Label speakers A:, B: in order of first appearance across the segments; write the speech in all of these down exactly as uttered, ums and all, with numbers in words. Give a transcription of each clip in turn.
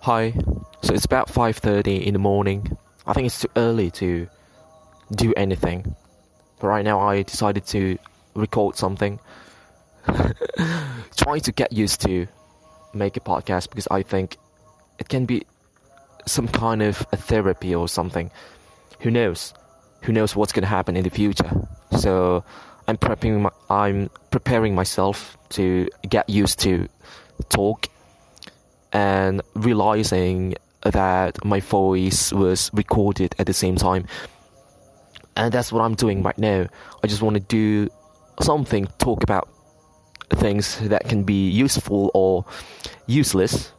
A: Hi. So it's about five thirty in the morning. I think it's too early to do anything. But right now I decided to record something. Trying to get used to make a podcast because I think it can be some kind of a therapy or something. Who knows? Who knows what's going to happen in the future? So I'm prepping my, I'm preparing myself to get used to talk and realizing that my voice was recorded at the same time. And that's what I'm doing right now. I just want to do something, talk about things that can be useful or useless,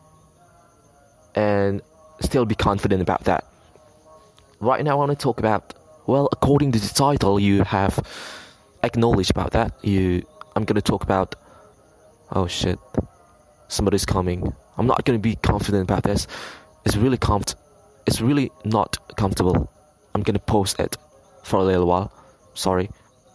A: and still be confident about that. Right now I want to talk about, well, according to the title, you have acknowledged about that. You, I'm going to talk about, oh shit, somebody's coming. I'm not going to be confident about this. It's really comf- It's really not comfortable. I'm going to post it for a little while. Sorry.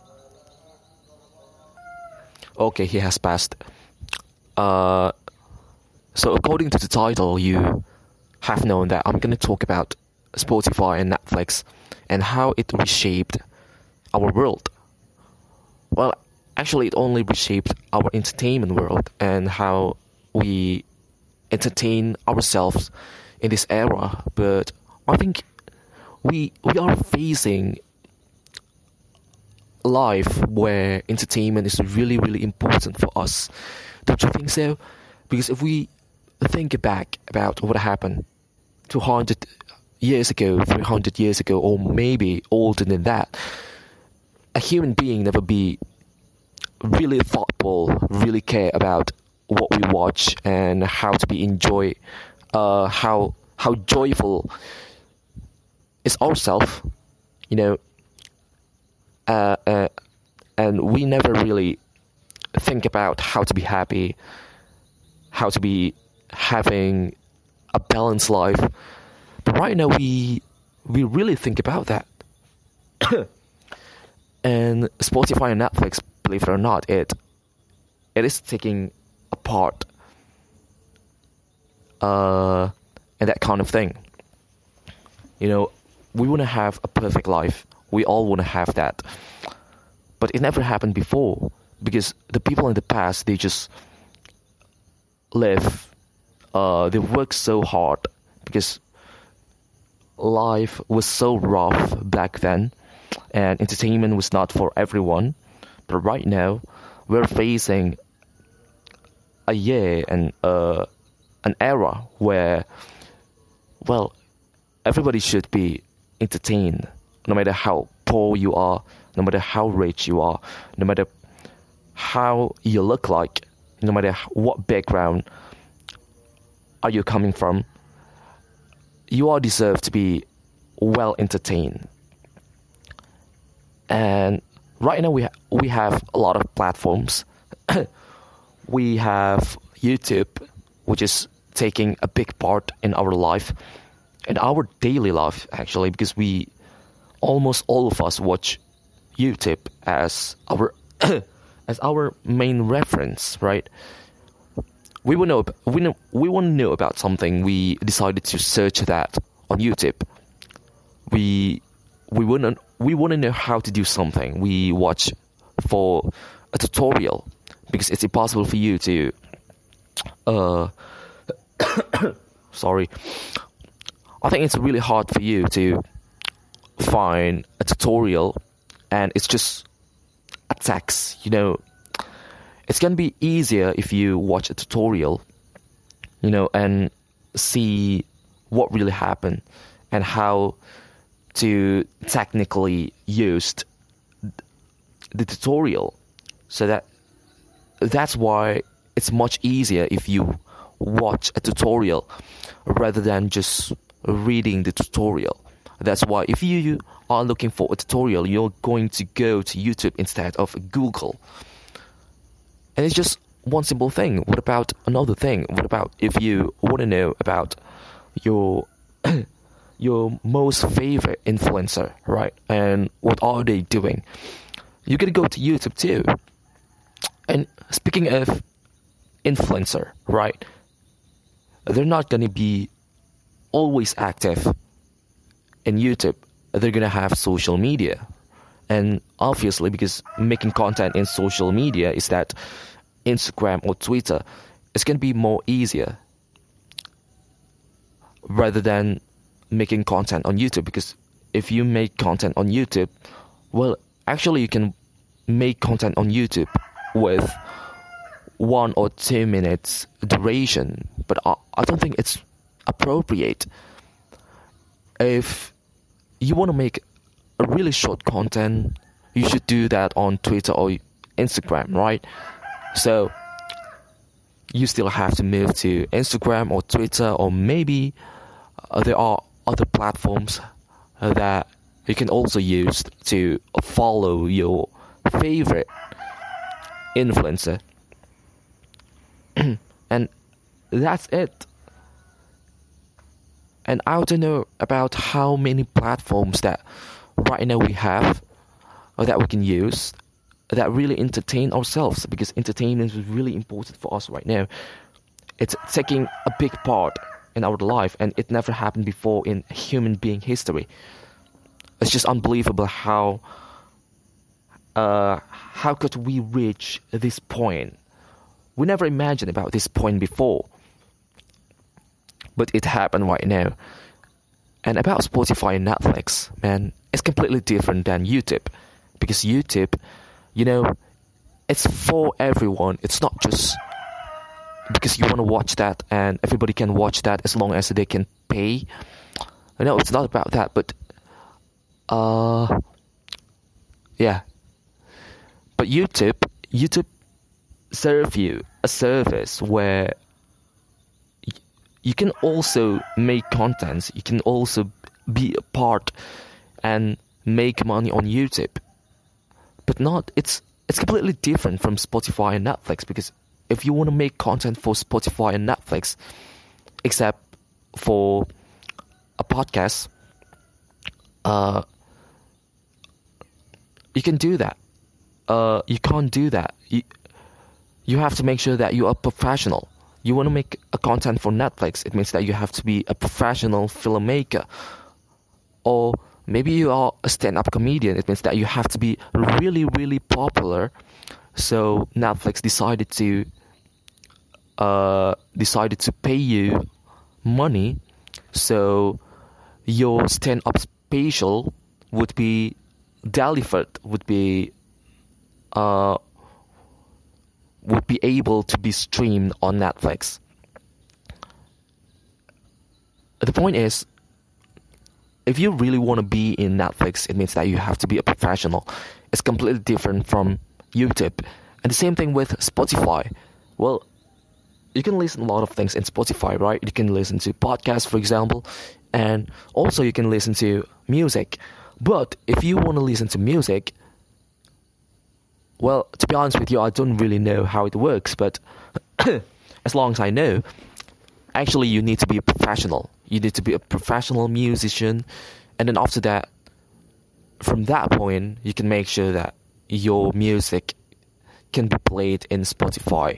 A: Okay, he has passed. Uh, so according to the title, you have known that I'm going to talk about Spotify and Netflix and how it reshaped our world. Well, actually, it only reshaped our entertainment world and how we entertain ourselves in this era. But I think we we are facing life where entertainment is really, really important for us. Don't you think so? Because if we think back about what happened two hundred years ago, three hundred years ago, or maybe older than that, a human being never be really thoughtful, really care about what we watch and how to be enjoy, uh, how how joyful is ourselves, you know. Uh, uh, and we never really think about how to be happy, how to be having a balanced life. But right now we we really think about that. And Spotify and Netflix, believe it or not, it it is taking apart uh, and that kind of thing. You know, we want to have a perfect life. We all want to have that. But it never happened before because the people in the past, they just live, uh, they work so hard because life was so rough back then and entertainment was not for everyone. But right now, we're facing a year and uh, an era where, well, everybody should be entertained. No matter how poor you are, no matter how rich you are, no matter how you look like, no matter what background are you coming from, you all deserve to be well entertained. And right now we ha- we have a lot of platforms. We have YouTube, which is taking a big part in our life, in our daily life actually, because we almost all of us watch YouTube as our as our main reference, right? We will know we know we want to know about something. We decided to search that on YouTube. We we want to we want to know how to do something. We watch for a tutorial because it's impossible for you to uh sorry. I think it's really hard for you to find a tutorial and it's just a text, you know. It's gonna be easier if you watch a tutorial, you know, and see what really happened and how to technically use the tutorial. So that that's why it's much easier if you watch a tutorial rather than just reading the tutorial. That's why if you are looking for a tutorial, you're going to go to YouTube instead of Google. And it's just one simple thing. What about another thing? What about if you want to know about your your most favorite influencer, right? And what are they doing? You're going to go to YouTube too. And speaking of influencer, right? they're not going to be always active in YouTube. They're going to have social media. And obviously, because making content in social media is that Instagram or Twitter, it's going to be more easier rather than making content on YouTube. Because if you make content on YouTube, well, actually you can make content on YouTube with one or two minutes duration, but I, I don't think it's appropriate. If you want to make a really short content, you should do that on Twitter or Instagram, right? So you still have to move to Instagram or Twitter, or maybe uh, there are other platforms uh, that you can also use to follow your favorite influencer. And that's it. And I don't know about how many platforms that right now we have or that we can use that really entertain ourselves, because entertainment is really important for us right now. It's taking a big part in our life, and it never happened before in human being history. It's just unbelievable how uh, how could we reach this point. We never imagined about this point before, but it happened right now. And about Spotify and Netflix, man, it's completely different than YouTube, because YouTube, you know, it's for everyone. It's not just because you want to watch that and everybody can watch that as long as they can pay. No, it's not about that, but uh, yeah. But YouTube, YouTube serve you a service where you can also make contents, you can also be a part and make money on YouTube. But not, it's it's completely different from Spotify and Netflix, because if you want to make content for Spotify and Netflix, except for a podcast, uh, you can do that. Uh, you can't do that. You, you have to make sure that you are professional. You want to make a content for Netflix, it means that you have to be a professional filmmaker. Or maybe you are a stand-up comedian, it means that you have to be really, really popular. So Netflix decided to uh, decided to pay you money, so your stand-up special would be delivered, would be uh, would be able to be streamed on Netflix. The point is, if you really want to be in Netflix, it means that you have to be a professional. It's completely different from YouTube. And the same thing with Spotify. Well, you can listen to a lot of things in Spotify, right? You can listen to podcasts, for example, and also you can listen to music. But if you want to listen to music, well, to be honest with you, I don't really know how it works, but as long as I know, actually you need to be a professional. You need to be a professional musician, and then after that, from that point, you can make sure that your music can be played in Spotify.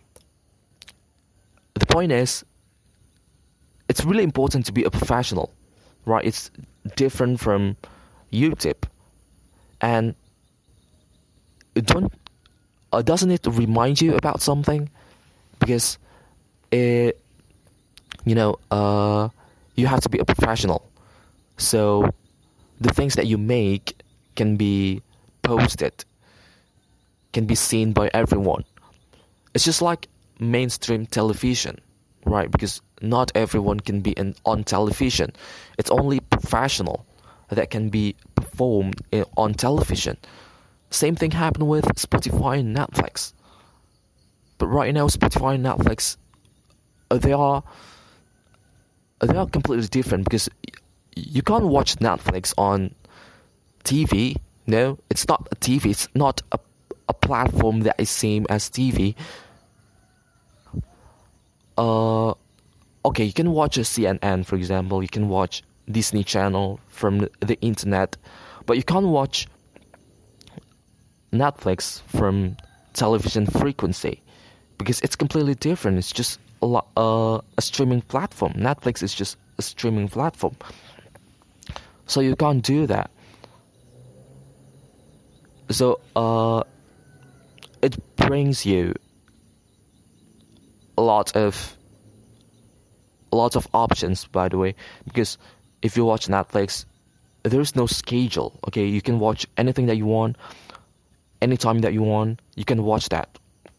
A: The point is, it's really important to be a professional, right? It's different from YouTube, and don't uh, doesn't it remind you about something? Because it, you know, uh, you have to be a professional, so the things that you make can be posted, can be seen by everyone. It's just like mainstream television, right? Because not everyone can be in, on television. It's only professional that can be performed in, on television. Same thing happened with Spotify and Netflix. But right now, Spotify and Netflix, uh, they are uh, they are completely different, because you can't watch Netflix on T V. No, it's not a T V. It's not a a platform that is same as T V. Uh, okay, you can watch a C N N, for example. You can watch Disney Channel from the internet, but you can't watch Netflix from television frequency, because it's completely different. It's just a, lo- uh, a streaming platform. Netflix is just a streaming platform. So you can't do that. So uh, it brings you a lot of a lot of options, by the way, because if you watch Netflix, there's no schedule. Okay, you can watch anything that you want, anytime that you want. You can watch that,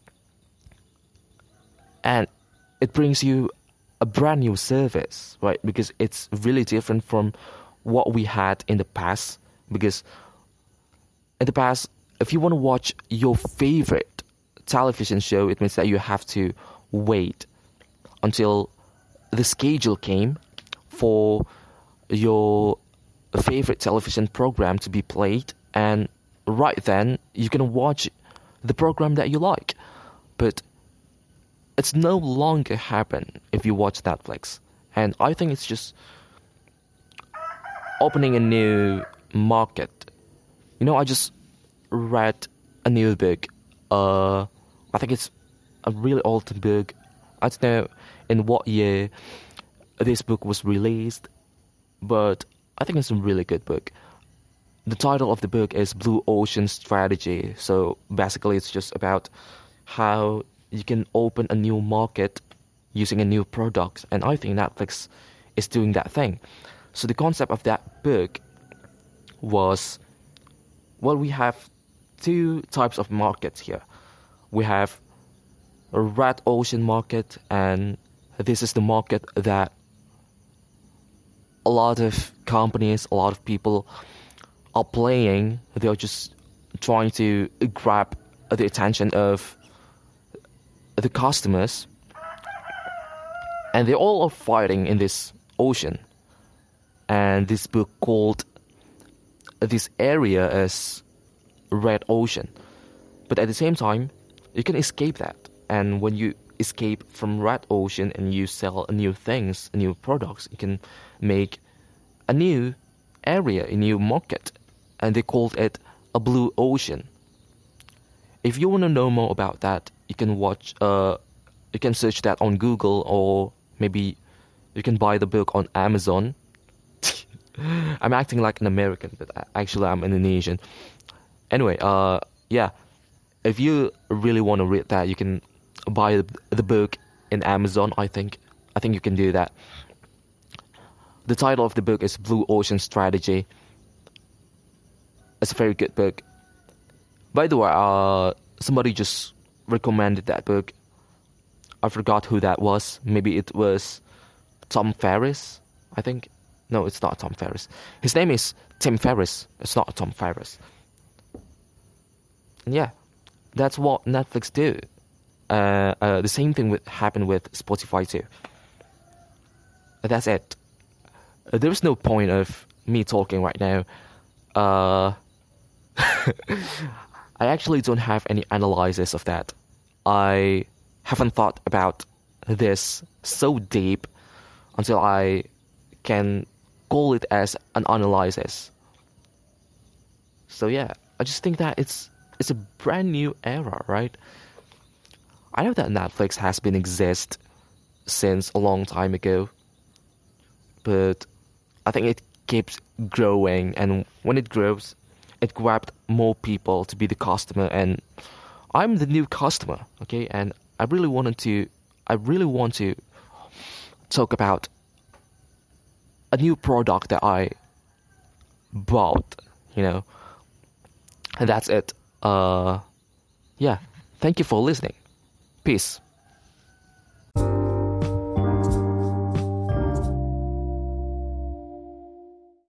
A: and it brings you a brand new service, right? Because it's really different from what we had in the past. Because in the past, if you want to watch your favorite television show, it means that you have to wait until the schedule came for your favorite television program to be played, and right then you can watch the program that you like. But it's no longer happen if you watch Netflix, and I think it's just opening a new market. You know, I just read a new book. Uh, I think it's a really old book. I don't know in what year this book was released, but I think it's a really good book. The title of the book is Blue Ocean Strategy. So basically it's just about how you can open a new market using a new product. And I think Netflix is doing that thing. So the concept of that book was, well, we have two types of markets here. We have a red ocean market, and this is the market that a lot of companies, a lot of people are playing. They're just trying to grab the attention of the customers, and they all are fighting in this ocean. And this book called this area as Red Ocean. But at the same time, you can escape that. And when you escape from Red Ocean and you sell new things, new products, you can make a new area, a new market. And they called it a Blue Ocean. If you want to know more about that, you can watch, uh, you can search that on Google, or maybe you can buy the book on Amazon. I'm acting like an American, but actually I'm Indonesian. Anyway, uh, yeah, if you really want to read that, you can buy the, the book in Amazon. I think, I think you can do that. The title of the book is Blue Ocean Strategy. It's a very good book. By the way, uh, somebody just recommended that book. I forgot who that was. Maybe it was Tom Ferriss, I think. No, it's not Tom Ferriss. His name is Tim Ferriss. It's not Tom Ferriss. And yeah, that's what Netflix do. Uh, uh, the same thing would happen with Spotify too. That's it. Uh, there is no point of me talking right now. Uh, I actually don't have any analysis of that. I haven't thought about this so deep until I can call it as an analysis. So yeah, I just think that it's it's a brand new era, right? I know that Netflix has been exist since a long time ago, but I think it keeps growing, and when it grows, it grabbed more people to be the customer, and I'm the new customer, okay? And I really wanted to, I really want to talk about a new product that I bought, you know. And that's it. Uh, yeah. Thank you for listening. Peace.